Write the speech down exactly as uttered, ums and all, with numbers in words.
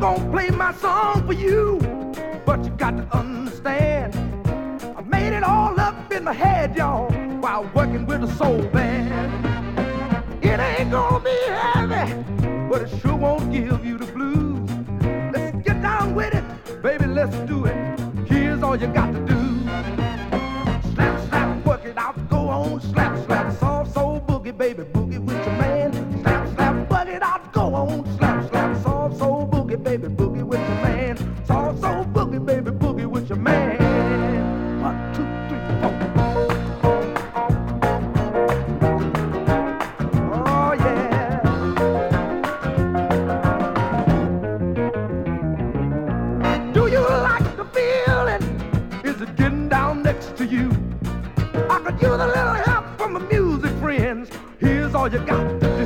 gonna play my song for you, but you got to understand, I made it all up in my head, y'all, while working with a soul band. It ain't gonna be heavy, but it sure won't give you the blues. Let's get down with it, baby, let's do it. Here's all you got to do. Slap, slap, work it out, go on, slap, slap, soft soul boogie, baby, boogie with your man. Slap, slap, work it out, go on, slap, slap, soft soul boogie, baby, boogie with your man. Soft soul boogie, baby, boogie with your man. One, two, three, four. Oh, yeah. Do you like the feeling? Is it getting down next to you? I could use a little help from my music friends. Here's all you got to do.